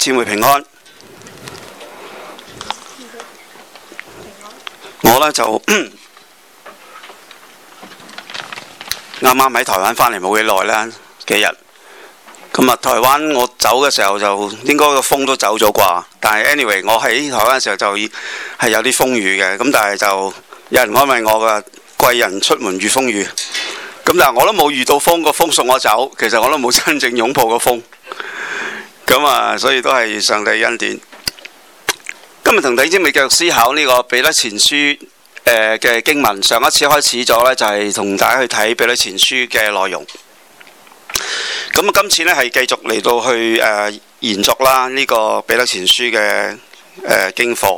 姊妹平安。我呢就啱啱喺台灣返嚟冇幾耐啦，幾日。咁啊，台灣我走嘅時候就應該個風都走咗啩。但係 anyway，我喺台灣嘅時候就係有啲風雨嘅。咁但係就有人安慰我嘅，貴人出門遇風雨。咁但係我都冇遇到風，個風送我走。其實我都冇真正擁抱個風。咁啊，所以都係上帝恩典。今日同弟兄姊妹繼續思考呢個彼得前書嘅經文。上一次開始咗呢，就係同大家去睇彼得前書嘅內容。咁啊，今次呢係繼續嚟到去延續啦呢個彼得前書嘅經課。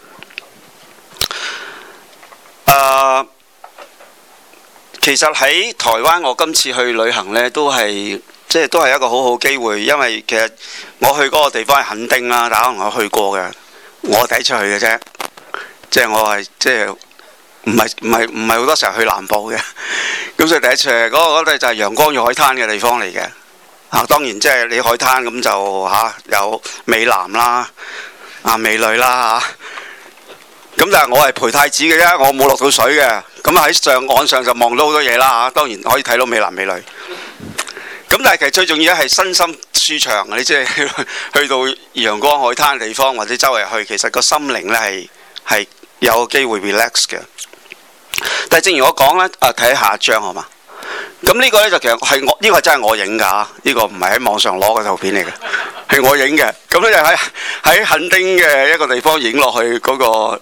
其實喺台灣，我今次去旅行呢，都係一個好好機會，因為其實我去嗰個地方係墾丁啦，大家可能有去過嘅，我第一次去嘅啫，我係唔係好多時候去南部嘅，咁所以第一次去嗰度就係陽光與海灘嘅地方嚟嘅。當然你海灘咁就有美男啦，美女啦咁但係我係陪太子嘅啫，我冇落到水嘅。咁喺岸上就望到好多嘢啦，當然可以睇到美男美女。咁但係其實最重要係身心舒暢，你去到陽光海灘嘅地方或者周圍去，其實個心靈呢係有機會 relax 嘅。但係正如我講呢，睇下一張好嘛？咁呢個呢，就其實係呢個真係我影㗎，呢個唔係喺網上攞嘅圖片嚟嘅，係我影嘅。咁呢，就喺墾丁嘅一個地方影落去嗰個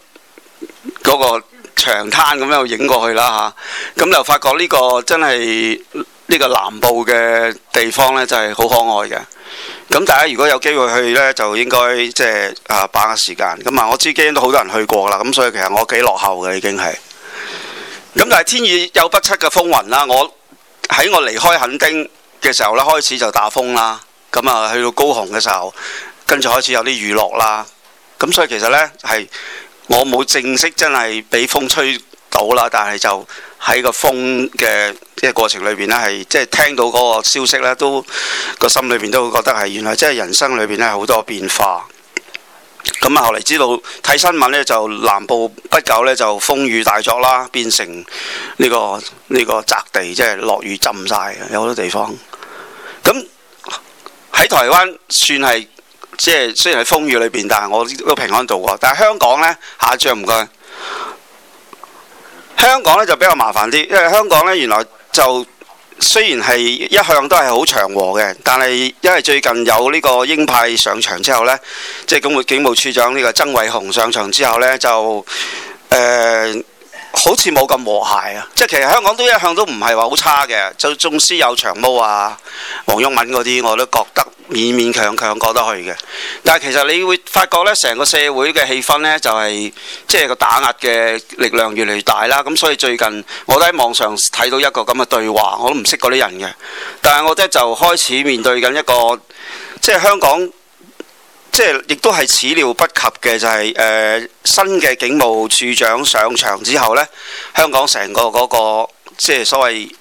長灘咁樣影過去啦嚇。咁就發覺呢個真係呢個南部嘅地方呢，就係好可愛嘅。咁大家如果有機會去呢，就應該把握時間。咁我知基恩都好多人去過啦，咁所以其實我幾落後嘅已經係。咁但係天雨有不測嘅風雲啦，我離開墾丁嘅時候呢，開始就打風啦。咁去到高雄嘅時候，跟住開始有啲雨落啦。咁所以其實呢，係我冇正式真係俾風吹到啦，但係就喺個風嘅過程裏邊呢，係聽到嗰個消息呢，都個心裏邊都會覺得係原來人生裏邊呢好多變化。咁後嚟知道睇新聞呢，就南部不久呢，就風雨大作啦，變成呢個澤地，落雨浸晒嘅，有好多地方。咁喺台灣算係雖然喺風雨裏邊，但係我都平安度過。但係香港呢，下一張唔該。香港呢就比較麻煩啲，因為香港呢原來就雖然係一向都係好祥和嘅，但係因為最近有呢個鷹派上場之後呢，警務處長呢個曾偉雄上場之後呢，就好似冇咁和諧啊！其實香港都一向都唔係話好差嘅，就縱使有長毛啊、黃毓民嗰啲，我都覺得勉勉強強過得去嘅。但係其實你會發覺呢，成個社會嘅氣氛呢，就係個打壓嘅力量越嚟越大啦。咁所以最近我都喺網上睇到一個咁嘅對話，我都唔識嗰啲人嘅，但係我就開始面對緊一個香港。亦都係始料不及嘅，就係新嘅警務處長上場之後呢，香港成個嗰個所謂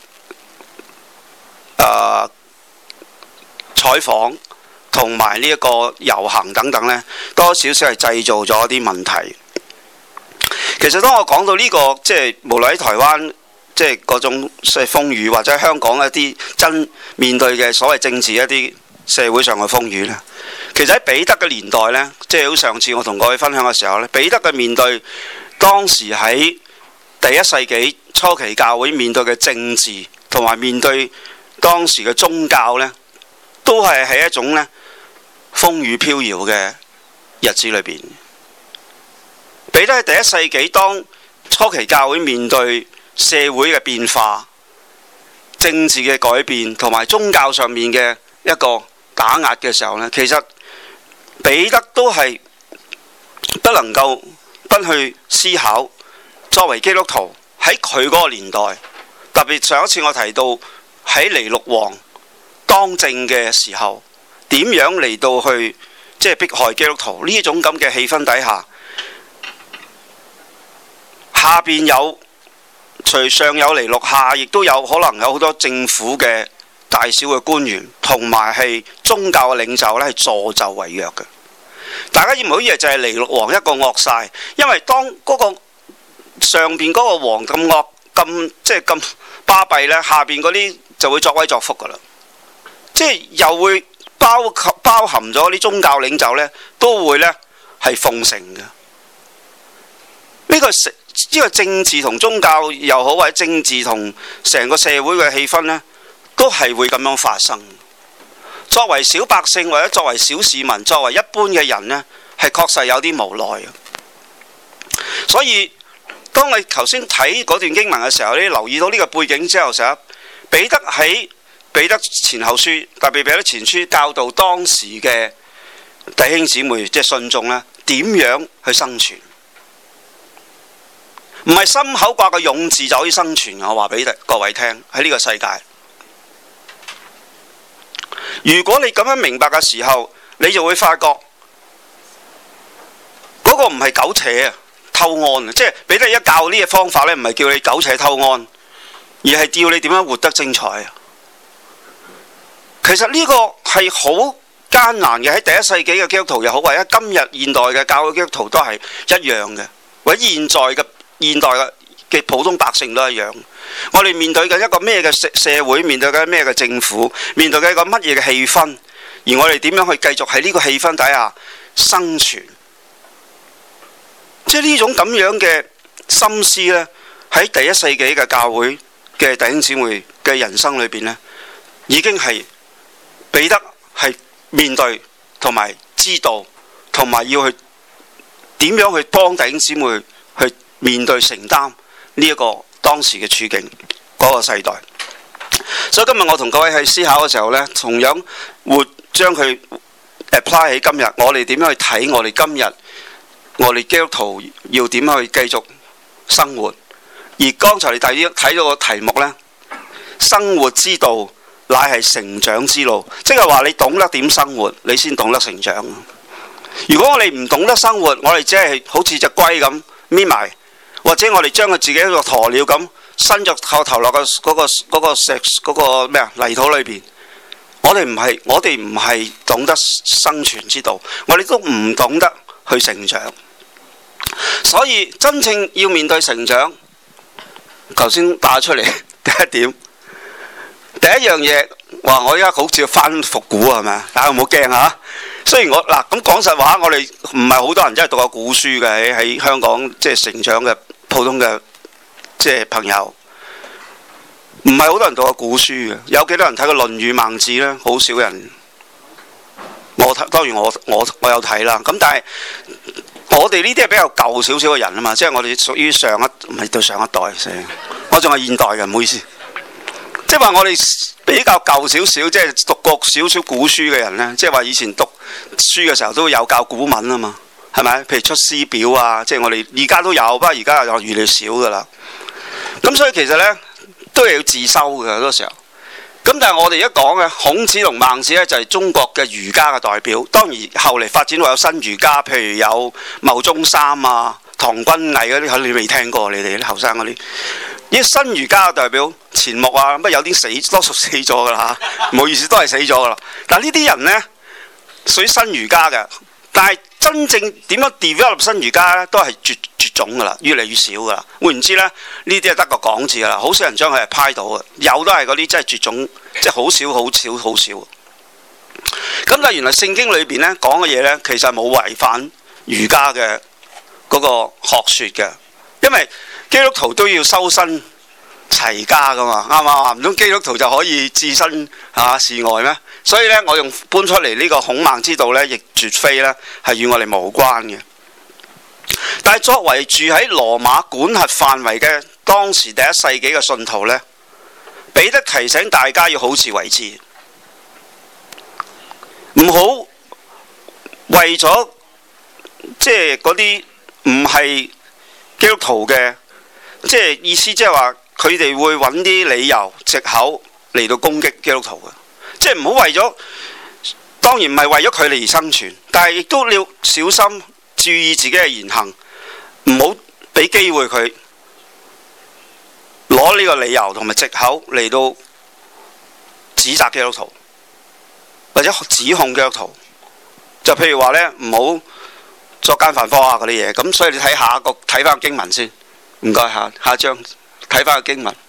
採訪同埋呢一個遊行等等呢，多少少係製造咗一啲問題。其實當我講到呢個無論喺台灣嗰種風雨，或者香港一啲真面對嘅所謂政治一啲社會上嘅風雨呢，其實喺彼得嘅年代呢，好上次我同各位分享嘅時候呢，彼得嘅面對當時喺第一世紀初期教會面對嘅政治，同埋面對當時嘅宗教呢，都係喺一種呢風雨飄搖嘅日子裏邊。彼得喺第一世紀當初期教會面對社會嘅變化、政治嘅改變，同埋宗教上面嘅一個打壓嘅時候呢，其實彼得都係不能夠不去思考，作為基督徒喺佢嗰個年代，特別上一次我提到喺尼祿王當政嘅時候，點樣嚟到去迫害基督徒呢種咁嘅氣氛底下，下邊有除上有尼祿，下亦都有可能有好多政府嘅大小嘅官員同埋係宗教嘅領袖呢係助紂為虐嘅。大家唔好以為就係尼祿王一個惡晒，因為當嗰個上邊嗰個王咁惡咁即係咁巴閉呢，下邊嗰啲就會作威作福噶啦，即係又會包含咗啲宗教領袖呢，都會呢係奉承嘅。呢個政治同宗教又好，或者政治同成個社會嘅氣氛呢，都係會咁樣發生。作為小百姓或者作為小市民，作為一般嘅人呢，係確實有啲無奈嘅。所以當你頭先睇嗰段經文嘅時候，你留意到呢個背景之後，成日彼得喺彼得前後書，特別彼得前書教導當時嘅弟兄姊妹，即係信眾呢，點樣去生存。唔係心口掛個勇字就可以生存。我話俾各位聽，喺呢個世界，如果你咁樣明白嘅時候，你就會發覺嗰個唔係苟且啊、偷安啊，即係彼得一教呢個方法呢，唔係叫你苟且偷安，而係叫你點樣活得精彩啊。其實呢個係好艱難嘅，喺第一世紀嘅基督徒又好，或者今日現代嘅教會基督徒都係一樣嘅，或者現代嘅普通百姓都一樣。我哋面對緊一個咩嘅社會，面對緊咩嘅政府，面對緊一個乜嘢嘅氣氛，而我哋點樣去繼續喺呢個氣氛底下生存？即係呢種咁樣嘅心思呢，喺第一世紀嘅教會嘅弟兄姊妹嘅人生裏邊呢，已經係彼得係面對同埋知道，同埋要去點樣去幫弟兄姊妹去面對承擔呢一個當時嘅處境嗰個世代。所以今日我同各位喺思考嘅時候呢，同樣會將佢 apply 喺今日，我哋點樣去睇我哋今日我哋基督徒要點樣去繼續生活。而剛才你睇到個題目呢，生活之道乃係成長之路，即係話你懂得點生活，你先懂得成長。如果我哋唔懂得生活，我哋只係好似隻龜咁搣埋，或者我哋將佢自己一個鴕鳥咁伸咗個頭落嗰個咩啊泥土裏邊，我哋唔係懂得生存之道，我哋都唔懂得去成長。所以真正要面對成長，頭先打出嚟第一點，第一樣嘢話我而家好似翻復古係咪啊？大家唔好驚嚇。雖然我嗱咁講實話，我哋唔係好多人真係讀過古書嘅，喺香港即係成長嘅普通嘅即係朋友，唔係好多人讀過古書嘅。有幾多人睇過《論語》《孟子》呢？好少人。當然我有睇啦。咁但係我哋呢啲係比較舊少少嘅人啊嘛，即係我哋屬於唔係對上一代，我仲係現代嘅，唔好意思。即係話我哋比較舊少少，即係讀過少少古書嘅人呢，即係話以前讀書嘅時候都有教古文啊嘛，係咪？譬如出師表啊，即係我哋而家都有，不過而家又越嚟越少噶啦。咁所以其實呢，都係要自修嘅好多時候。咁但係我哋而家講嘅孔子同孟子呢，就係中國嘅儒家嘅代表。當然後嚟發展到有新儒家，譬如有牟宗三啊、唐君毅嗰啲，可能你未聽過，你哋啲後生嗰啲。呢新儒家嘅代表錢穆啊，乜有啲多數死咗噶啦嚇，唔好意思，都係死咗噶啦。但係呢啲人呢，屬於新儒家嘅，但係真正點樣 develop 新儒家呢，都係絕種噶啦，越嚟越少噶啦。換言之呢，呢啲係得個講字噶啦，好少人將佢係派到嘅，有都係嗰啲真係絕種，即係好少好少。咁但係原來聖經裏邊呢講嘅嘢呢，其實冇違反儒家嘅嗰個學説嘅，因為基督徒都要修身齊家噶嘛，啱嘛？唔通基督徒就可以置身事外咩？所以呢，我用搬出嚟呢個孔孟之道呢，亦絕非呢係與我哋無關嘅。但係作為住喺羅馬管轄範圍嘅當時第一世紀嘅信徒呢，彼得提醒大家要好自為之，唔好為咗即係嗰啲唔係基督徒嘅。即係意思，即係話佢哋會揾啲理由、藉口嚟到攻擊基督徒嘅。即係唔好為咗，當然唔係為咗佢哋而生存，但係亦都要小心注意自己嘅言行，唔好俾機會佢攞呢個理由同埋藉口嚟到指責基督徒，或者指控基督徒。就譬如話呢，唔好作奸犯科啊嗰啲嘢。咁所以你睇睇翻個經文先，唔該下一章睇翻個經文。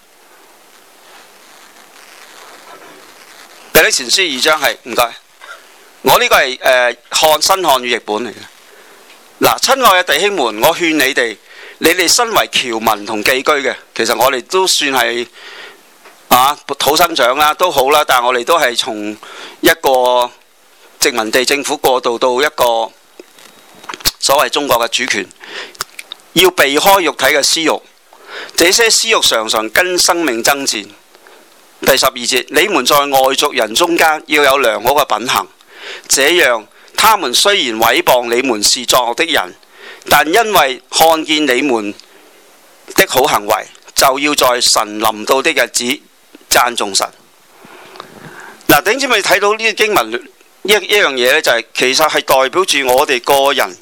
彼得前書2章係唔該，我呢個係新漢語譯本嚟嘅。嗱，親愛嘅弟兄們，我勸你哋身為僑民同寄居嘅，其實我哋都算係土生長啦，都好啦，但係我哋都係從一個殖民地政府過渡到一個所謂中國嘅主權，要避開肉體嘅私慾，這些私慾常常跟生命爭戰。第12節，你們在外族人中間要有良好嘅品行，這樣他們雖然毀謗你們是作惡的人，但因為看見你們的好行為，就要在神臨到的日子讚頌神。嗱，弟兄姊妹睇到呢個經文一樣嘢呢，就係其實係代表住我哋個人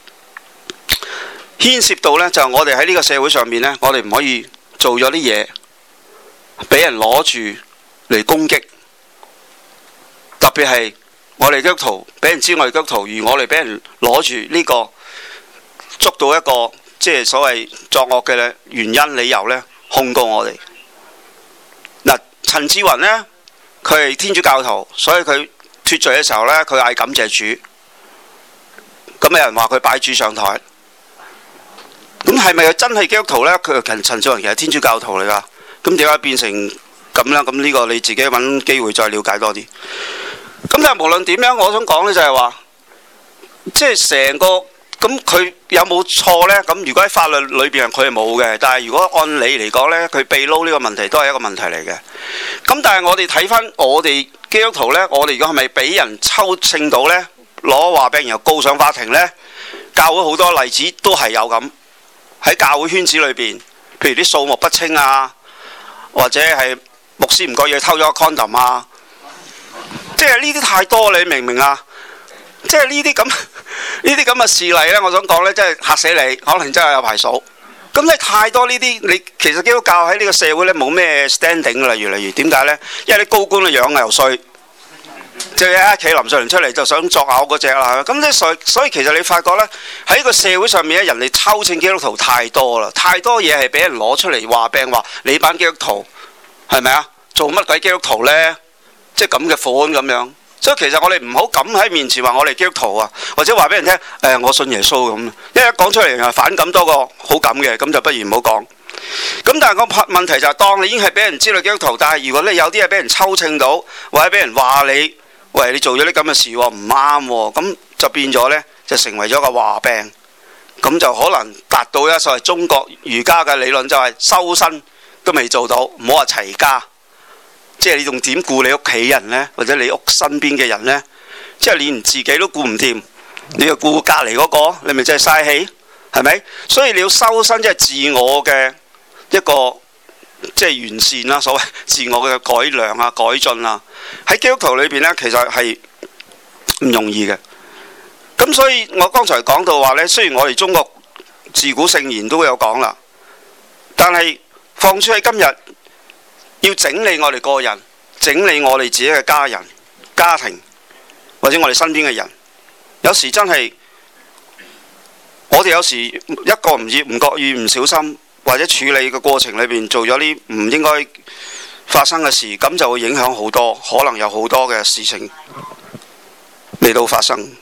牽涉到呢，就係我哋喺呢個社會上面呢，我哋唔可以做咗啲嘢俾人攞住嚟攻擊，特別係我哋基督徒俾人知我哋基督徒，而我哋俾人攞住呢個捉到一個即係所謂作惡嘅原因理由呢，控告我哋。嗱，陳志雲呢，佢係天主教徒，所以佢脫罪嘅時候呢，佢嗌感謝主。咁有人話佢擺主上台，咁係咪真係基督徒呢？佢陳志雲其實天主教徒嚟㗎。咁點解變成咁呢？咁呢個你自己揾機會再了解多啲。咁但係無論點樣，我想講呢就係話，即係成個咁佢有冇錯呢？咁如果喺法律裏邊佢係冇嘅，但係如果按理嚟講呢，佢被撈呢個問題都係一個問題嚟嘅。咁但係我哋睇翻我哋基督徒呢，我哋如果係咪俾人抽秤到呢？攞話俾人又告上法庭呢？教會好多例子都係有咁喺教會圈子裏邊，譬如啲數目不清啊。或者係牧師唔覺意偷咗個 condom 啊，即係呢啲太多，你明唔明啊？即係呢啲咁嘅事例呢，我想講呢，真係嚇死你，可能真係有排數。咁你太多呢啲，你其實基督教喺呢個社會呢冇咩 standing 㗎啦，越嚟越點解呢？因為啲高官嘅樣又衰，即係一企林瑞麟出嚟就想作嘔嗰隻啦。咁即所以其實你發覺呢，喺個社會上面咧，人哋抽秤基督徒太多啦，太多嘢係俾人攞出嚟話病話你班基督徒係咪啊？做乜鬼基督徒呢？即係咁嘅款咁樣。所以其實我哋唔好咁喺面前話我哋基督徒啊，或者話俾人聽我信耶穌咁，因為一講出嚟係反感多過好感嘅，咁就不如唔好講。咁但係個問題就係，當你已經係俾人知道基督徒，但係如果你有啲嘢俾人抽秤到，或者俾人話你，喂，你做咗啲咁嘅事喎，唔啱喎，咁就變咗呢，就成為咗個話病，咁就可能達到一所謂中國儒家嘅理論，就係修身都未做到，唔好話齊家，即係你仲點顧你屋企人呢？或者你屋身邊嘅人呢？即係你連自己都顧唔掂，你又顧隔離嗰個，你咪真係嘥氣，係咪？所以你要修身，即係自我嘅一個即係完善啦，所謂自我嘅改良啊、改進啊，喺基督徒裏邊呢，其實係唔容易嘅。咁所以我剛才講到話呢，雖然我哋中國自古聖賢都有講啦，但係放諸喺今日，要整理我哋個人，整理我哋自己嘅家人、家庭，或者我哋身邊嘅人，有時真係我哋有時一個唔覺意唔小心，或者處理嘅過程裏邊做咗啲唔應該發生嘅事，咁就會影響好多，可能有好多嘅事情嚟到發生。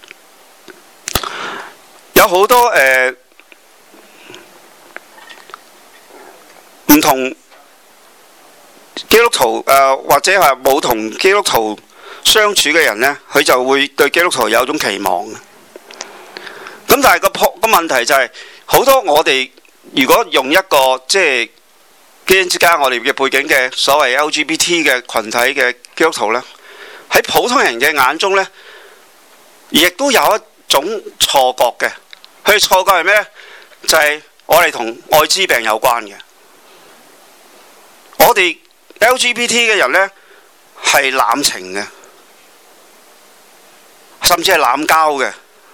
有好多唔同基督徒或者係冇同基督徒相處嘅人呢，佢就會對基督徒有種期望。咁但係個問題就係，好多我哋如果用一個即係基恩之家我哋嘅背景嘅所謂 LGBT 嘅群體嘅基督徒呢，喺普通人嘅眼中呢，亦都有一種錯覺嘅。佢錯覺係咩呢？就係我哋同愛滋病有關嘅。我哋 LGBT 嘅人呢，係濫情嘅，甚至係濫交嘅。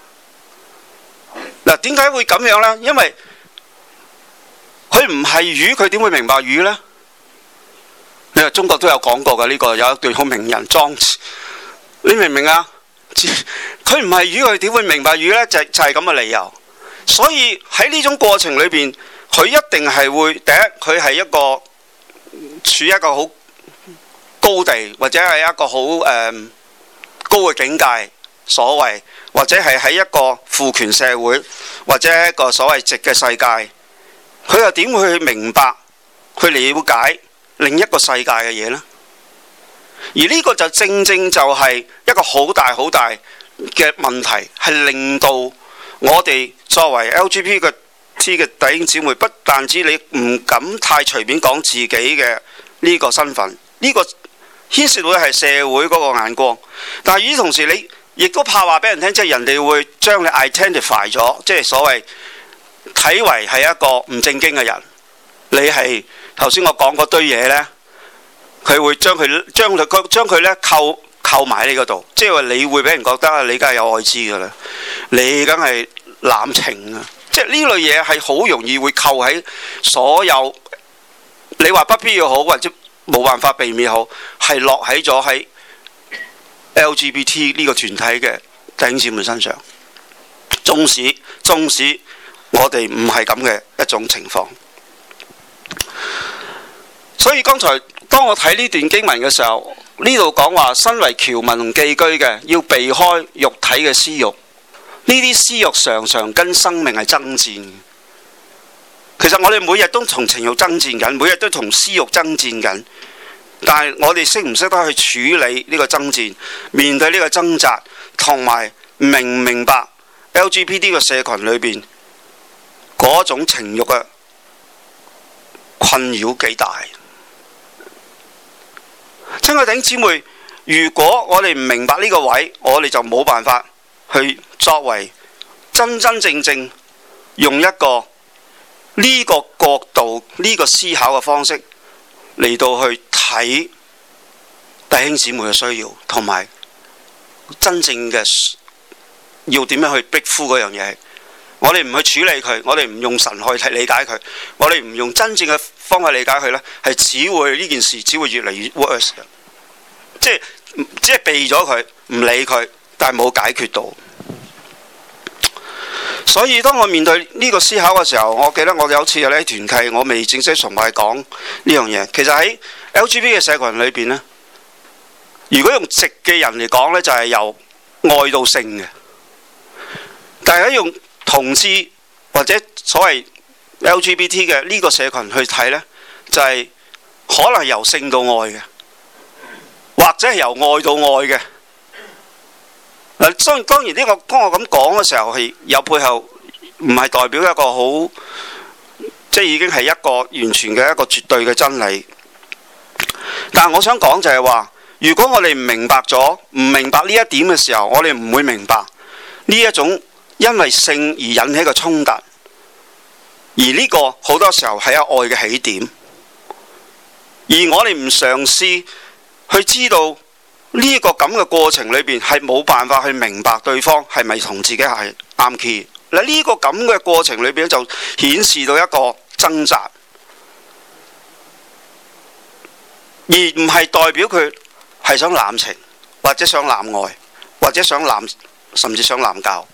嗱，點解會咁樣呢？因為佢唔係魚，佢點會明白魚呢？ 你話中國都有講過嘅呢個，有一段好名人莊子，你明唔明啊？佢唔係魚，佢點會明白魚呢？就係咁嘅理由。所以喺呢種過程裏邊，佢一定係會第一，佢係一個處於一個好高地，或者係一個好高嘅境界，所謂或者係喺一個父權社會，或者一個所謂直嘅世界，佢又點會去明白去了解另一個世界嘅嘢呢？而呢個就正正就係一個好大好大嘅問題，係令到我哋作為 LGBT 嘅弟兄姊妹，不但止你唔敢太隨便講自己嘅呢個身份，呢個牽涉到係社會嗰個眼光，但係與此同時你亦都怕話俾人聽，即係人哋會將你 identify 咗，即係所謂睇為係一個唔正經嘅人。你係頭先我講嗰堆嘢呢，佢會將佢咧扣埋你嗰度，即係話你會俾人覺得你梗係有愛滋㗎啦，你梗係濫情啊！即係呢類嘢係好容易會扣喺所有你話不必要好或者冇辦法避免好，係落喺咗喺 LGBT 呢個團體嘅弟兄姊妹身上。縱使我哋唔係咁嘅一種情況，所以剛才當我睇呢段經文嘅時候，呢度講話身為僑民同寄居嘅要避開肉體嘅私慾，呢啲私慾常常跟生命係爭戰。其實我哋每日都同情慾爭戰緊，每日都同私慾爭戰緊，但係我哋識唔識得去處理呢個爭戰，面對呢個掙扎，同埋明唔明白 LGBT 個社群裏邊嗰種情慾嘅困擾幾大？親愛弟兄姊妹，如果我哋唔明白呢個位，我哋就冇辦法去作為真真正正用一個呢個角度、呢個思考嘅方式嚟到去睇弟兄姊妹嘅需要，同埋真正嘅要點樣去逼呼嗰樣嘢。我哋唔去處理佢，我哋唔用神去理解佢，我哋唔用真正嘅方法理解佢呢，係只會呢件事只會越嚟越 worse 嘅，即係避咗佢，唔理佢，但係冇解決到。所以當我面對呢個思考嘅時候，我記得我有次喺團契，我未正式崇拜講呢樣嘢。其實喺 LGBT 嘅社群裏邊呢，如果用直嘅人嚟講呢，就係由愛到性嘅，但係用同志或者所謂 LGBT 嘅呢個社群去睇呢，就係可能係由性到愛嘅，或者係由愛到愛嘅。當然呢個當我咁講嘅時候係有背後，唔係代表一個好，即係已經係一個完全嘅一個絕對嘅真理。但係我想講就係話，如果我哋唔明白呢一點嘅時候，我哋唔會明白呢一種因為性而引起嘅衝突，而呢個好多時候係有愛嘅起點，而我哋唔嘗試去知道呢個咁嘅過程裏邊係冇辦法去明白對方係咪同自己係啱 key。嗱，呢個咁嘅過程裏邊就顯示到一個掙扎，而唔係代表佢係想濫情，或者想濫愛，或者想甚至想濫交。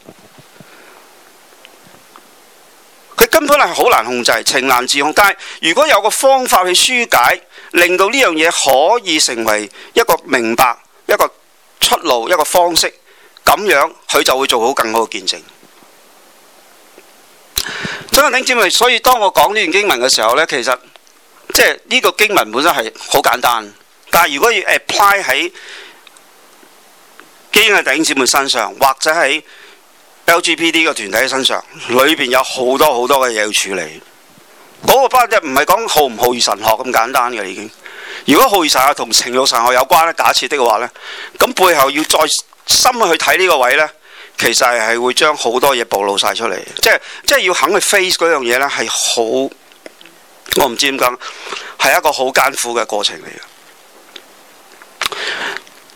佢根本係好難控制，情難自控。但係如果有個方法去紓解，令到呢樣嘢可以成為一個明白、一個出路、一個方式，咁樣佢就會做好更好嘅見證。所以弟兄姊妹，所以當我講呢段經文嘅時候呢，其實即係呢個經文本身係好簡單，但係如果要 apply 喺基恩嘅弟兄姊妹身上，或者喺 LGBT 個團體身上，裏邊有好多好多嘅嘢要處理。嗰個包即係唔係講好唔好義神學咁簡單嘅已經。如果好義神學同情慾神學有關咧，假設的話呢，咁背後要再深去睇呢個位呢，其實係會將好多嘢暴露晒出嚟。即係要肯去 face 嗰樣嘢呢，係好，我唔知點講，係一個好艱苦嘅過程嚟嘅。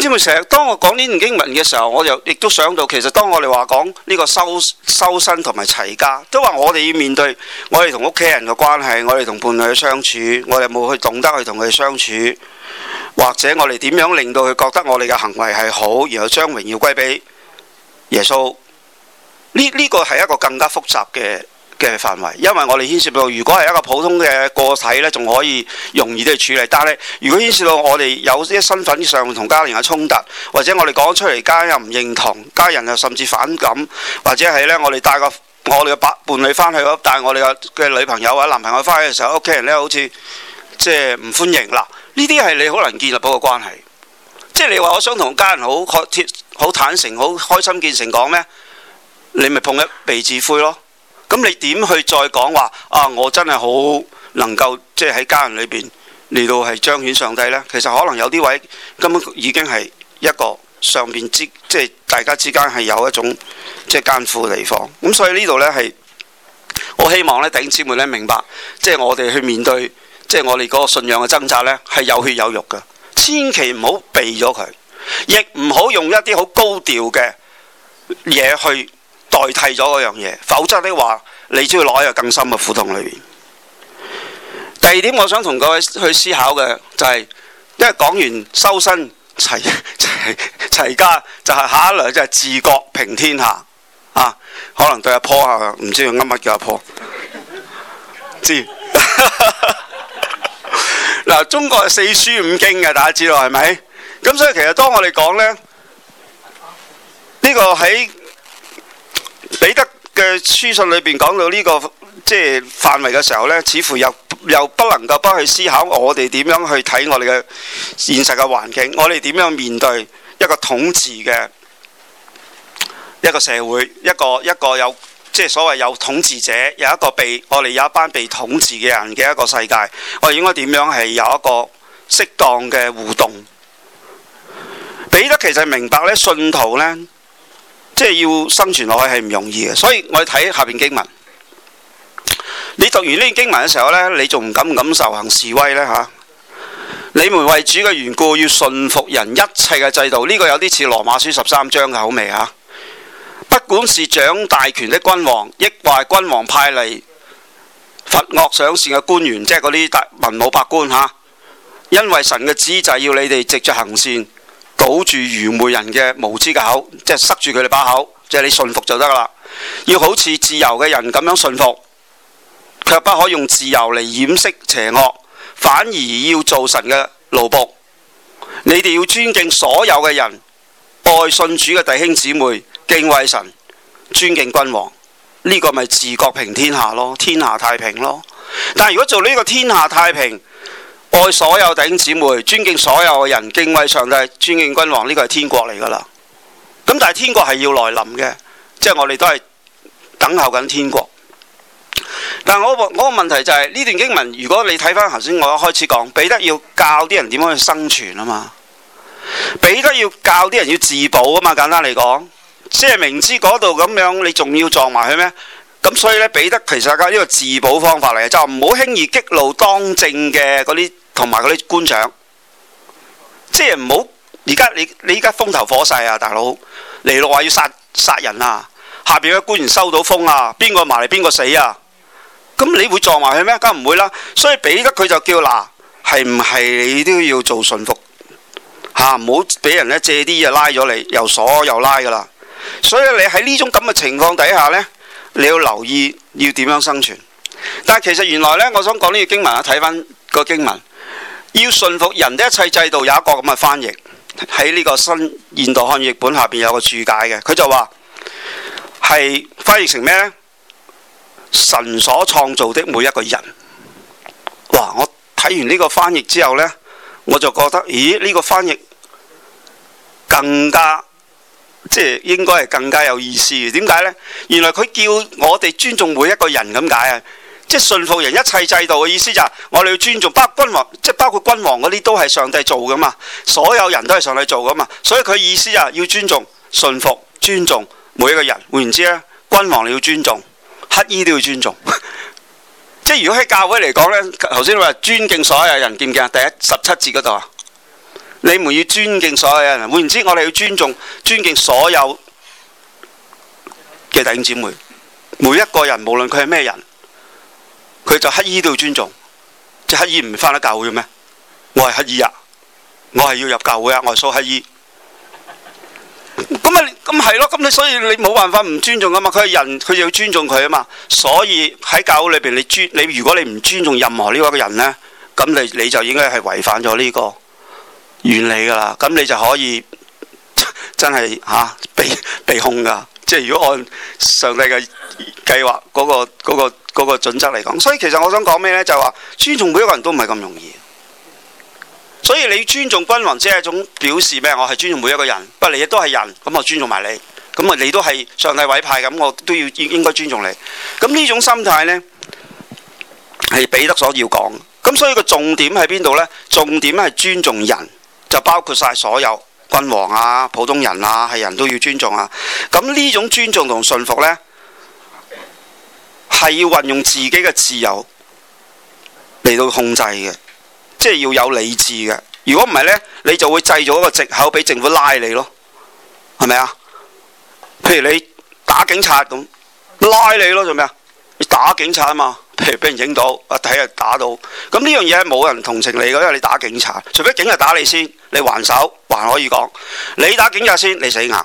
姊妹，成日當我講呢段經文嘅時候，我就亦都想到，其實當我哋話講呢個修身同埋齊家，都話我哋要面對我哋同屋企人嘅關係，我哋同伴侶嘅相處，我哋有冇去懂得去同佢哋相處，或者我哋點樣令到佢覺得我哋嘅行為係好，然後將榮耀歸俾耶穌。呢個係一個更加複雜嘅範圍，因為我哋牽涉到，如果係一個普通嘅個體呢，仲可以容易啲去處理。但係如果牽涉到我哋有啲身份上同家人嘅衝突，或者我哋講出嚟，家人又唔認同，家人又甚至反感，或者係呢，我哋帶我哋嘅伴侶翻去，帶我哋嘅女朋友或者男朋友翻去嘅時候，屋企人呢好似即係唔歡迎啦。呢啲係你好難建立到個關係。即係你話我想同家人好坦誠、好開心見誠講咩？你咪碰一鼻子灰咯。咁你點去再講話啊？我真係好能夠即係喺家人裏邊嚟到係彰顯上帝呢？其實可能有啲位根本已經係一個上邊即係大家之間係有一種即係艱苦嘅地方。咁所以呢度呢，係我希望呢弟兄姊妹呢明白，即係我哋去面對即係我哋嗰個信仰嘅掙扎呢，係有血有肉嘅，千祈唔好避咗佢，亦唔好用一啲好高調嘅嘢去代替咗嗰樣嘢，否則的話你只要攞入更深嘅苦痛裏面。第二點我想同各位去思考嘅就係，因為講完修身齊家，就係下一類就係治國平天下啊。可能對阿婆啊，唔知佢噏乜叫阿婆知嗱，中國係四書五經嘅，大家知道係咪？咁所以其實當我哋講呢，呢個喺彼得嘅書信裏邊講到呢個即係範圍嘅時候呢，似乎又不能夠不去思考我哋點樣去睇我哋嘅現實嘅環境，我哋點樣面對一個統治嘅一個社會，一個有即係所謂有統治者，有一個我哋有一班被統治嘅人嘅一個世界，我哋應該點樣係有一個適當嘅互動？彼得其實明白呢，信徒呢，即係要生存落去係唔容易嘅，所以我哋睇下邊經文。你讀完呢段經文嘅時候呢，你仲唔敢受行示威呢？嚇？你們為主嘅緣故要順服人一切嘅制度，呢個有啲似羅馬書13章嘅口味嚇。不管是掌大權的君王，抑或君王派嚟罰惡賞善嘅官員，即係嗰啲文武百官嚇。因為神嘅旨意就係要你哋藉著行善，堵住愚昧人嘅無知嘅口，即係塞住佢哋把口，即係你順服就得啦。要好似自由嘅人咁樣順服，卻不可用自由嚟掩飾邪惡，反而要做神嘅奴僕。你哋要尊敬所有嘅人，愛信主嘅弟兄姊妹，敬畏神，尊敬君王。呢個咪治國平天下咯，天下太平咯。但係如果做呢個天下太平，愛所有弟兄姊妹，尊敬所有嘅人，敬畏上帝，尊敬君王，呢個係天國嚟噶啦。咁但係天國係要來臨嘅，即係我哋都係等候緊天國。但係我個問題就係呢段經文，如果你睇翻頭先我一開始講，彼得要教啲人點樣去生存啊嘛，彼得要教啲人要自保啊嘛，簡單嚟講，即係明知嗰度咁樣，你仲要撞埋佢咩？咁所以呢，彼得其實係呢個自保方法嚟嘅，就唔好輕易激怒當政嘅嗰啲同埋嗰啲官長，即係唔好而家你而家風頭火勢啊，大佬嚟到話要殺人啊，下邊嘅官員收到風啊，邊個埋嚟邊個死啊？咁你會撞埋佢咩？梗唔會啦。所以彼得佢就叫嗱，係唔係你都要做順服嚇，唔好俾人咧借啲嘢拉咗你，又鎖又拉噶啦。所以你喺呢種咁嘅情況底下呢，你要留意要點樣生存。但係其實原來呢，我想講呢個經文啊，睇翻個經文，要順服人的一切制度，有一個咁嘅翻譯喺呢個新現代漢語譯本下邊有個注解嘅，佢就話係翻譯成咩呢？神所創造的每一個人。哇！我睇完呢個翻譯之後呢，我就覺得，咦？呢個翻譯更加即係應該係更加有意思嘅。點解呢？原來佢叫我哋尊重每一個人咁解啊！即係順服人一切制度嘅意思就係我哋要尊重，包括君王，即係包括君王嗰啲都係上帝做噶嘛，所有人都係上帝做噶嘛，所以佢意思就係要尊重、順服、尊重每一個人。換言之咧，君王你要尊重。乞衣都要尊重，即係如果喺教會嚟講呢，頭先話尊敬所有人，記唔記啊？第17節嗰度啊， 你們要尊敬所有人。換言之，我哋要尊敬所有嘅弟兄姊妹，每一個人，無論佢係咩人，佢就乞衣都要尊重。即係乞衣唔返得教會咩？我係乞衣啊，我係要入教會啊，我係蘇乞衣。咁係咯，咁你所以你冇辦法唔尊重噶嘛？佢係人，佢就要尊重佢啊嘛。所以喺教會裏邊，你如果你唔尊重任何呢一個人呢，咁你就應該係違反咗呢個原理噶啦。咁你就可以真係被控噶。即係如果按上帝嘅計劃嗰個準則嚟講，所以其實我想講咩呢？就係話尊重每一個人都唔係咁容易。所以你尊重君王只係一種表示咩？我係尊重每一個人，不過你亦都係人，咁我尊重埋你，咁啊你都係上帝委派，咁我都應該尊重你。咁呢種心態呢，係彼得所要講。咁所以個重點喺邊度呢？重點係尊重人，就包括晒所有君王啊、普通人啊，係人都要尊重啊。咁呢種尊重同順服呢，係要運用自己嘅自由嚟到控制嘅。即係要有理智嘅，如果唔係呢，你就會製造一個藉口俾政府拉你咯，係咪啊？譬如你打警察咁，拉你咯，做咩啊？你打警察啊嘛，譬如俾人影到，睇下打到，咁呢樣嘢係冇人同情你嘅，因為你打警察，除非警察打你先，你還手還可以講，你打警察先，你死硬，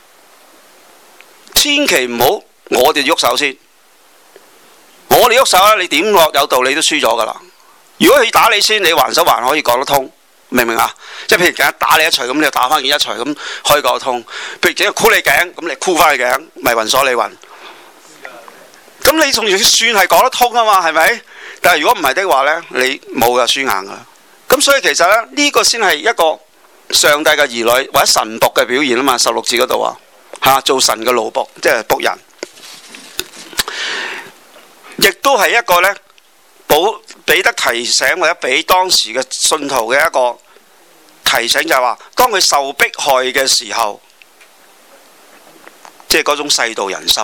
千祈唔好我哋喐手先，我哋喐手咧，你點落有道理都輸咗噶啦。如果佢打你先，你還手還可以講得通，明唔明啊？即係譬如警察打你一錘，咁你就打翻佢一錘，咁可以講得通。譬如警察箍你頸，咁你箍翻佢頸，咪暈鎖你暈。咁你仲要算係講得通啊嘛？係咪？但係如果唔係的話呢，你冇噶，輸硬噶。咁所以其實呢，呢個先係一個上帝嘅兒女或者神僕嘅表現啊嘛。16節嗰度啊，做神嘅奴僕，即係僕人，亦都係一個呢。彼得提醒或者俾當時嘅信徒嘅一個提醒，就係話當佢受迫害嘅時候，即係嗰種世道人心。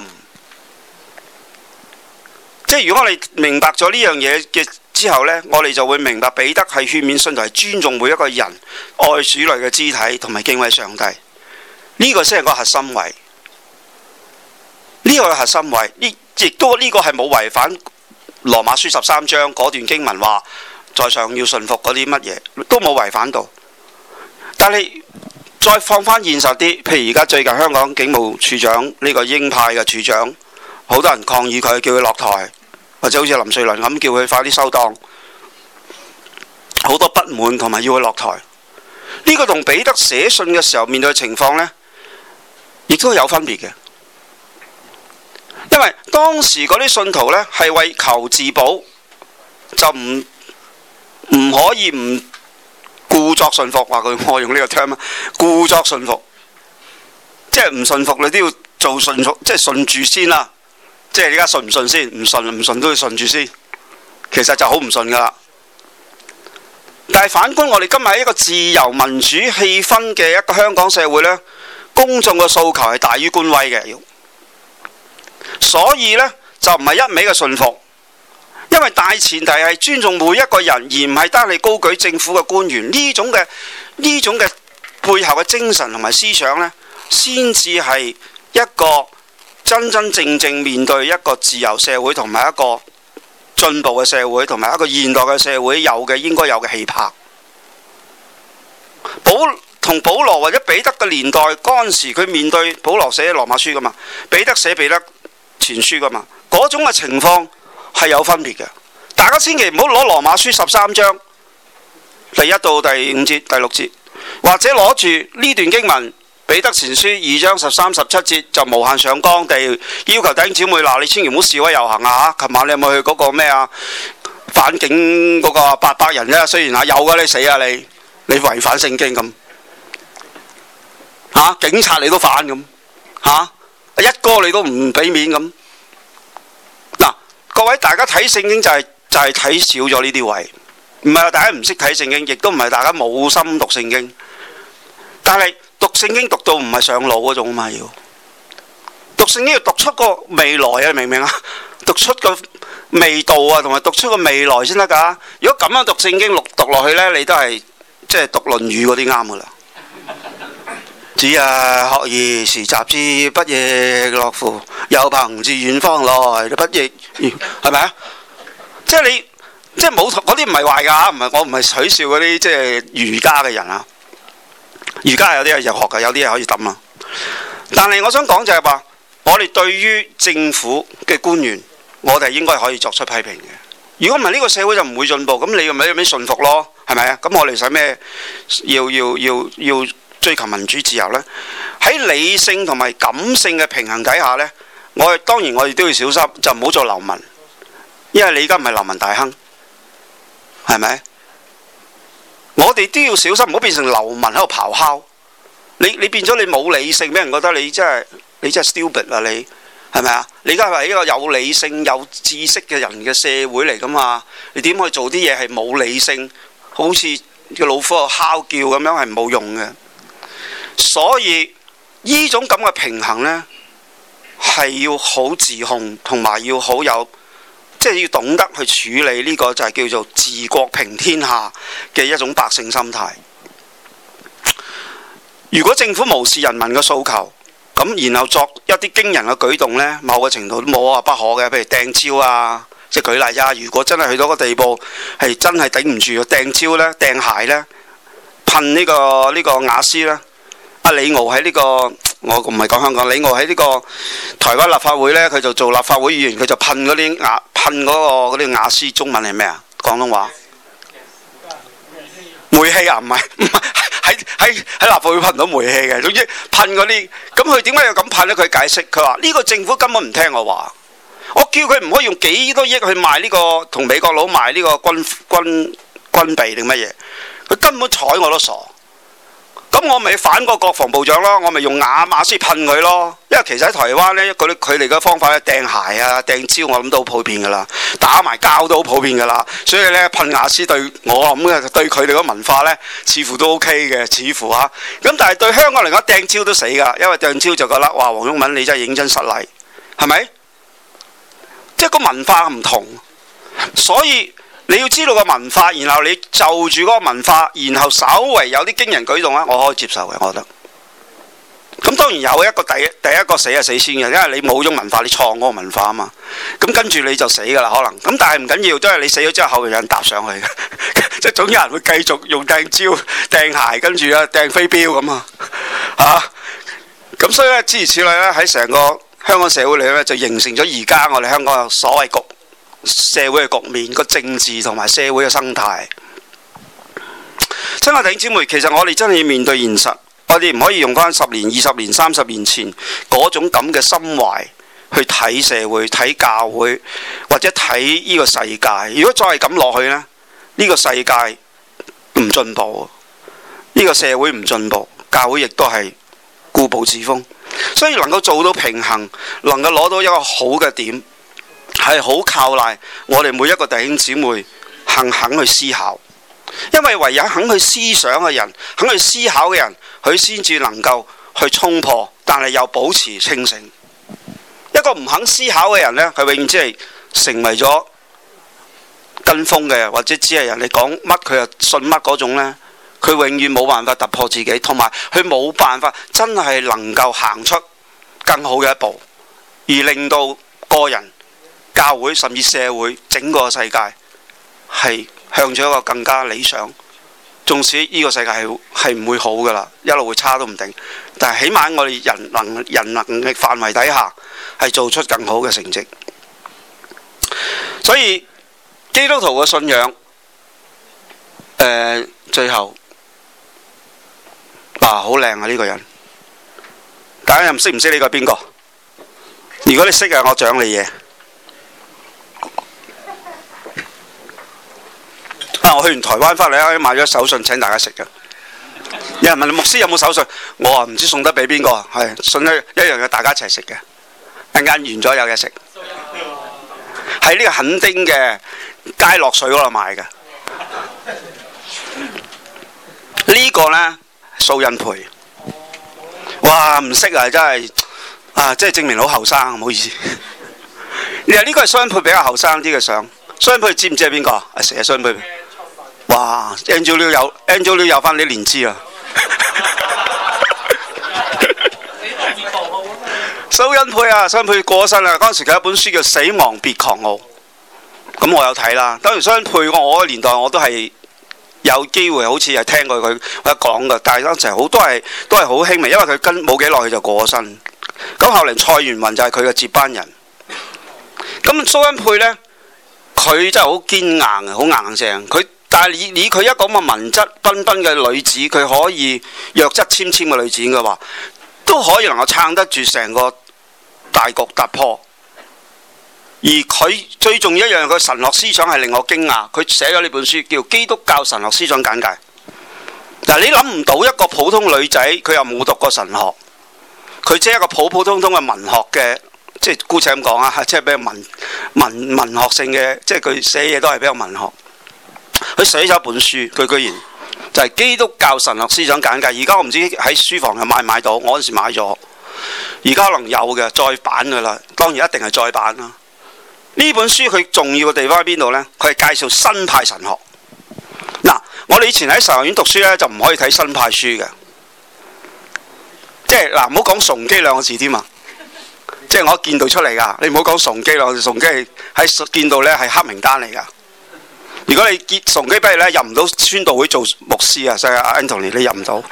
即係如果我哋明白咗呢樣嘢嘅之後呢，我哋就會明白彼得係勸勉信徒係尊重每一個人、愛主內嘅肢體同埋敬畏上帝。呢個先係個核心位。呢個係核心位，亦都呢個係冇違反羅馬書13章嗰段經文話在上要順服嗰啲乜嘢都冇違反到。但係再放翻現實啲，譬如而家最近香港警務處長呢個鷹派嘅處長，好多人抗議佢，叫佢落台，或者好似林瑞麟咁叫佢快啲收檔，好多不滿同埋要佢落台。呢個同彼得寫信嘅時候面對嘅情況呢，亦都有分別嘅。因為當時嗰啲信徒呢，係為求自保，就唔可以唔故作順服，話佢我用呢個 term 啊，故作順服，即係唔順服你都要做順服，即係順住先啦。即係而家順唔順先？唔順都要順住先。其實就好唔順噶啦。但係反觀我哋今日喺一個自由民主氣氛嘅一個香港社會呢，公眾嘅訴求係大於官威嘅。所以呢，就唔係一味嘅順服，因為大前提係尊重每一個人，而唔係單係高舉政府嘅官員。呢種嘅背後嘅精神同埋思想呢，先至係一個真真正正面對一個自由社會同埋一個進步嘅社會同埋一個現代嘅社會有嘅應該有嘅氣魄。同保羅或者彼得嘅年代嗰陣時，佢面對保羅寫羅馬書噶嘛，彼得寫彼得前書噶嘛，嗰種嘅情況係有分別嘅。大家千祈唔好攞羅馬書13章第1到第5節、第6節，或者攞住呢段經文彼得前書2章13、17節就無限上綱地要求弟兄姊妹嗱，你千祈唔好示威遊行啊！琴晚你有冇去嗰個咩啊反警嗰個800人啫？雖然有㗎，你死啊你違反聖經咁警察你都反咁一哥你都唔俾面咁。嗱，各位大家睇聖經就係睇少咗呢啲位，唔係話大家唔識睇聖經，亦都唔係大家冇心讀聖經，但係讀聖經讀到唔係上腦嗰種嘛，要讀聖經要讀出個未來啊，明唔明啊？讀出個味道啊，同埋讀出個未來先得㗎。如果咁樣讀聖經讀落去呢，你都係即係讀《論語》嗰啲啱噶啦。子曰：學而時習之，不亦樂乎？有朋自遠方來，不亦係咪啊？即係你即係冇嗰啲唔係壞㗎，唔係我唔係取笑嗰啲即係儒家嘅人啊。儒家有啲係有學㗎，有啲係可以抌啊。但係我想講就係話，我哋對於政府嘅官員，我哋應該可以作出批評嘅。如果唔係呢個社會就唔會進步，咁你咪有咩順服咯？係咪啊？咁我哋使咩要追求民主自由呢？喺理性同埋感性嘅平衡底下呢，當然我哋都要小心，就唔好做流民，因為你而家唔係流民大亨，係咪？我哋都要小心，唔好變成流民喺度咆哮。你變咗你冇理性，俾人覺得你真係 stupid 啊！你係咪啊？你而家係一個有理性、有知識嘅人嘅社會嚟噶嘛？你點可以做啲嘢係冇理性，好似個老虎喺度哮叫咁樣，係冇用嘅。所以呢種咁嘅平衡呢，係要好自控，同埋要好有，即係要懂得去處理呢個就係叫做治國平天下嘅一種百姓心態。如果政府無視人民嘅訴求，咁然後作一啲驚人嘅舉動呢，某個程度都冇話不可嘅，譬如掟蕉啊，即係舉例啫。如果真係去到個地步係真係頂唔住，掟蕉呢、掟鞋呢、噴呢個瓦斯呢。阿李敖喺呢個，我唔係講香港，李敖喺呢個台灣立法會呢，佢就做立法會議員，佢就噴嗰啲瓦斯，中文係咩啊？廣東話煤氣啊？唔係喺立法會噴到煤氣嘅，總之噴嗰啲。咁佢點解要咁噴呢？佢解釋，佢話呢個政府根本唔聽我話，我叫佢唔可以用幾多億去賣呢個同美國佬賣呢個軍備定乜嘢，佢根本睬我都傻。咁我咪反個國防部長咯，我咪用瓦斯噴佢咯。因為其實喺台灣呢，佢哋嘅方法咧，掟鞋啊、掟蕉，我諗都好普遍噶啦，打埋交都好普遍噶啦。所以呢，噴瓦斯對我諗嘅對佢哋嘅文化呢，似乎都 OK 嘅，似乎啊。咁但係對香港嚟講，掟蕉都死噶，因為掟蕉就覺得哇，黃毓民你真係認真失禮，係咪？即係個文化唔同，所以。你要知道個文化，然後你就住嗰個文化，然後稍為有啲驚人舉動咧，我可以接受嘅，我覺得。咁當然有一個第一個死係死先嘅，因為你冇種文化，你創嗰個文化啊嘛。咁跟住你就死㗎啦，可能。咁但係唔緊要，都係你死咗之後，後邊有人搭上去嘅，即係總有人會繼續用掟蕉、掟鞋，跟住啊掟飛鏢咁啊嚇。咁所以咧，諸如此類咧，喺成個香港社會裏咧，就形成咗而家我哋香港嘅所謂社會嘅局面，個政治同埋社會嘅生態。親愛弟兄姊妹，其實我哋真係要面對現實，我哋唔可以用翻10年、20年、30年前嗰種咁嘅心懷去睇社會、睇教會或者睇呢個世界。如果再係咁落去呢，呢個世界唔進步，呢個社會唔進步，教會亦都係固步自封。所以能夠做到平衡，能夠攞到一個好嘅點，係好靠賴我哋每一個弟兄姊妹肯去思考，因為唯有肯去思想嘅人，肯去思考嘅人，佢先至能夠去衝破，但係又保持清醒。一個唔肯思考嘅人呢，佢永遠只係成為咗跟風嘅，或者只係人哋講乜佢就信乜嗰種呢，佢永遠冇辦法突破自己，同埋佢冇辦法真係能夠行出更好嘅一步，而令到個人、教會甚至社會整個世界係向咗一個更加理想。縱使呢個世界係唔會好噶啦，一路會差都唔定，但係起碼我哋人能力範圍底下係做出更好嘅成績。所以基督徒嘅信仰，最後好靚啊！呢個人，大家又唔識呢個係邊個？如果你識嘅，我獎你嘢。我去完台灣翻嚟咧，買咗手信請大家食嘅。有人問你牧師有冇手信，我話唔知送得俾邊個，係信一樣嘅，大家一齊食嘅。一陣間完咗有嘢食，喺呢個墾丁嘅佳樂水嗰度買嘅。呢個呢，蘇恩培，哇唔識啊，真係即係證明好後生，唔好意思。呢個係蘇恩培比較後生啲嘅相。蘇恩培知唔知係邊個？成日蘇恩培。 哇 Angel 有翻啲年資啊！蘇恩佩啊，蘇恩佩過咗身啦。嗰陣時佢有一本書叫《死亡別狂傲》，咁我有睇啦。當然蘇恩佩我個年代我都係有機會，好似係聽過佢一講嘅，但係當時好都係好輕微，因為佢跟冇幾耐佢就過咗身。咁後嚟蔡元雲就係佢嘅接班人。咁蘇恩佩呢，佢真係好堅硬嘅，好硬淨。但係以佢一個咁嘅文質彬彬嘅女子，佢可以弱質纖纖嘅女子嘅話，都可以能夠撐得住成個大局突破。而佢最重要一樣，佢神學思想係令我驚訝。佢寫咗呢本書叫《基督教神學思想簡介》。嗱，你諗唔到一個普通女仔，佢又冇讀過神學，佢只係一個普普通通嘅文學嘅，即係姑且咁講啊，即係比較文學性嘅，即係佢寫嘢都係比較文學。佢寫咗一本書，佢居然就係《基督教神學思想簡介》。而家我唔知喺書房又買唔買到，我嗰陣時買咗，而家可能有嘅再版㗎啦。當然一定係再版啦。呢本書佢重要嘅地方喺邊度呢？佢係介紹新派神學。嗱，我哋以前喺神學院讀書呢，就唔可以睇新派書嘅，即係嗱，唔好講崇基兩個字添啊！即係我見到出嚟㗎，你唔好講崇基兩個字，崇基喺見到呢係黑名單嚟㗎。如果你結崇基畢業咧，入唔到宣道會做牧師啊，所以阿 Anthony 你入唔到。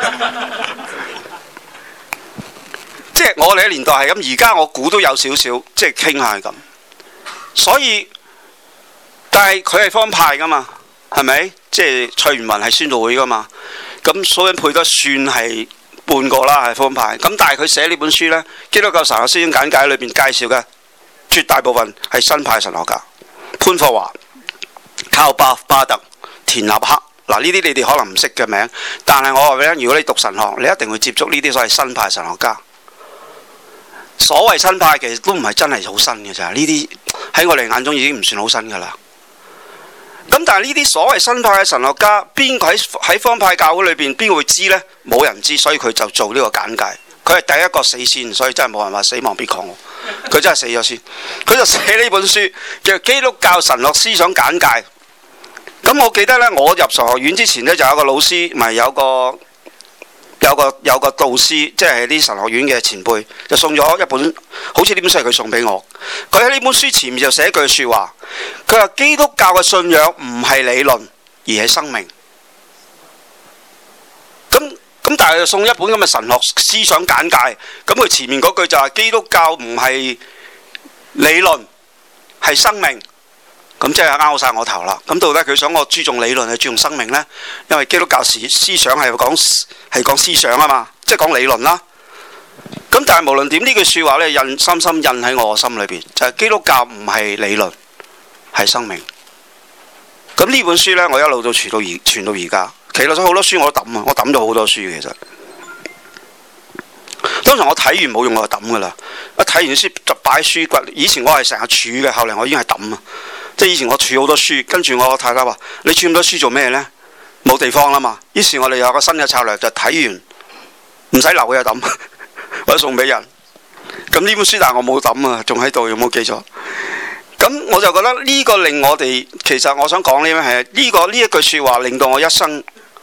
即係我哋嘅年代係咁，而家我估都有少少，即係傾下係咁。所以，但係佢係方派噶嘛，係咪？即係蔡元雲係宣道會噶嘛。咁蘇恩佩都算係半個啦，係方派。咁但係佢寫呢本書呢，《基督教神學思想簡介》裏邊介紹嘅絕大部分係新派神學家，潘霍華、靠巴特、田納克。嗱，呢啲你哋可能唔識嘅名，但係我話俾你聽，如果你讀神學，你一定會接觸呢啲所謂新派神學家。所謂新派其實都唔係真係好新嘅咋，呢啲喺我哋眼中已經唔算好新噶啦。咁但係呢啲所謂新派嘅神學家，邊個喺方派教會裏邊邊個會知呢？冇人知，所以佢就做呢個簡介。佢係第一個死先，所以真係冇人話死亡別狂傲。佢真係死咗先，佢就寫呢本書叫《基督教神學思想簡介》。咁我記得呢，我入神學院之前呢，就有個老師，咪有個導師，即係啲神學院嘅前輩，就送咗一本，好似呢本書係佢送俾我。佢喺呢本書前面就寫一句説話，佢話基督教嘅信仰唔係理論，而係生命。咁但係就送一本咁嘅神學思想簡介，咁佢前面嗰句就係基督教唔係理論，係生命。咁即係拗晒我頭啦！咁到底佢想我注重理論係注重生命呢？因為基督教思想係講思想啊嘛，即係講理論啦。咁但係無論點，呢句説話呢，深深印喺我心裏邊，就係基督教唔係理論，係生命。咁呢本書呢，我一路都傳到而家。其實咗好多書我都抌啊，我抌咗好多書其實。通常我睇完冇用我就抌噶啦，一睇完書就擺喺書櫃。以前我係成日儲嘅，後嚟我已經係抌啊。即係以前我儲好多書，跟住我太太話：你儲咁多書做咩呢？冇地方啦嘛。於是我哋有個新嘅策略，就睇完唔使留嘅就抌，或者送俾人。咁呢本書但係我冇抌啊，仲喺度，有冇記錯？咁我就覺得呢個令我哋，其實我想講呢係呢一句説話，令到我一生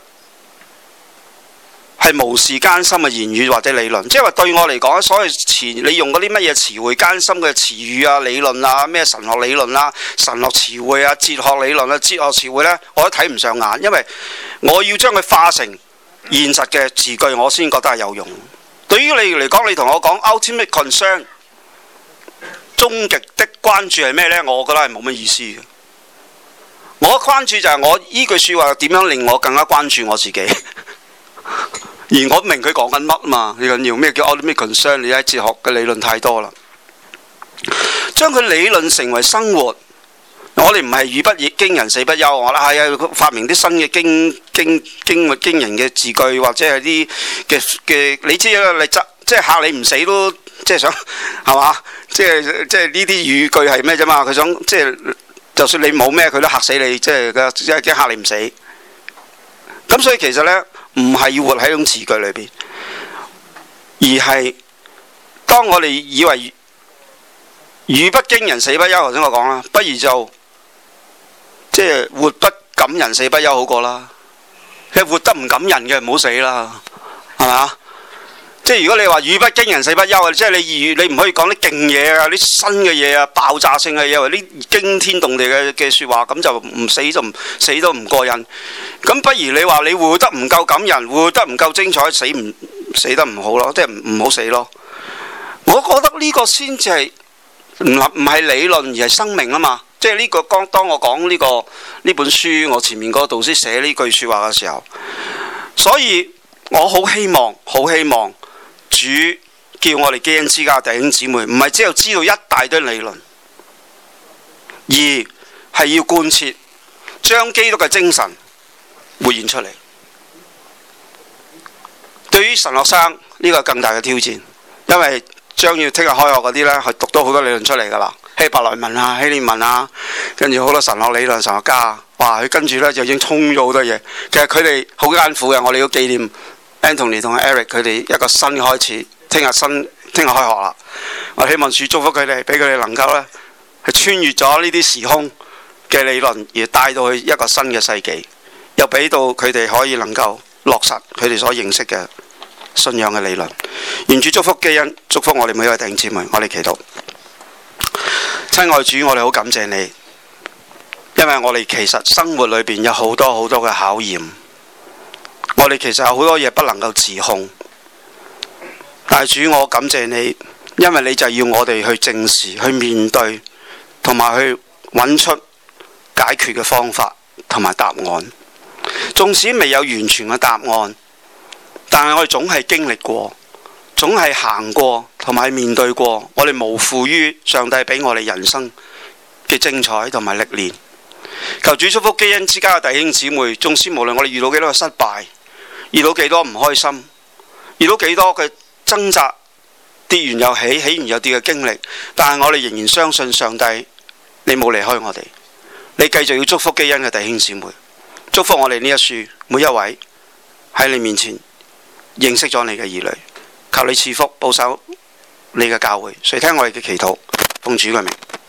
係無視艱深嘅言語或者理論，即係話對我嚟講，所謂你用嗰啲乜嘢詞彙艱深嘅詞語啊、理論啊、咩神學理論啊、神學詞彙啊、哲學理論啊、哲學詞彙呢，我都睇唔上眼，因為我要將佢化成現實嘅字句，我先覺得係有用。對於你嚟講，你同我講 ultimate concern， 終極的關注係咩呢？我覺得係冇乜意思嘅。我嘅關注就係我依句説話點樣令我更加關注我自己。而我明佢講緊乜嘛？最緊要咩叫 ultimate concern？ 你喺哲學嘅理論太多啦，將佢理論成為生活。我哋唔係語不驚人死不休，我啦係啊，發明啲新嘅驚人嘅字句，或者係啲嘅你知啦，你即係嚇你唔死都即係想係嘛？即係呢啲語句係咩啫嘛？佢想即係就算你冇咩，佢都嚇死你，即係驚嚇你唔死。咁所以其實呢，唔係要活喺種詞句裏邊，而係當我哋以為語不驚人死不休，頭先我講啦，不如就即係活不感人死不休好過啦。你活得唔感人嘅唔好死啦，係嘛？即係如果你話語不驚人死不休啊，即係你唔可以講啲勁嘢啊，啲新嘅嘢啊，爆炸性嘅嘢，或者啲驚天動地嘅説話，咁就唔死就死都唔過癮。咁不如你話你活得唔夠感人，活得唔夠精彩，死得唔好咯，即係唔好死咯。我覺得呢個先至係唔係理論而係生命啊嘛。即係呢個當我講呢本書，我前面嗰個導師寫呢句説話嘅時候，所以我好希望主叫我哋基恩之家弟兄姊妹，唔係只有知道一大堆理論，而係要貫徹將基督嘅精神活現出嚟。對於神學生呢個更大嘅挑戰，因為將要聽日開學嗰啲呢，係讀到好多理論出嚟㗎啦，希伯來文啊、希臘文啊，跟住好多神學理論、神學家啊，哇！佢跟住呢就已經衝咗好多嘢。其實佢哋好艱苦嘅，我哋要紀念 Anthony 同 Eric 佢哋一個新嘅開始。聽日開學啦，我希望主祝福佢哋，俾佢哋能夠呢係穿越咗呢啲時空嘅理論，而帶到去一個新嘅世紀，又俾到佢哋可以能夠落實佢哋所認識嘅信仰嘅理論。願主祝福基恩，祝福我哋每一位弟兄姊妹。我哋祈禱。親愛主，我哋好感謝你，因為我哋其實生活裏邊有好多好多嘅考驗，我哋其實有好多嘢不能夠自控。但係主，我感謝你，因為你就要我哋去正視、去面對，同埋去揾出解決嘅方法同埋答案。縱使未有完全嘅答案，但係我哋總係經歷過，總係行過同埋面對過，我哋無負於上帝俾我哋人生嘅精彩同埋歷練。求主祝福基恩之家嘅弟兄姊妹，縱使無論我哋遇到幾多嘅失敗，遇到幾多唔開心，遇到幾多嘅掙扎，跌完又起，起完又跌嘅經歷，但係我哋仍然相信上帝，你冇離開我哋，你繼續要祝福基恩嘅弟兄姊妹，祝福我哋呢一書每一位喺你面前認識咗你嘅兒女，求你賜福保守你嘅教會，垂聽我哋嘅祈禱，奉主嘅名。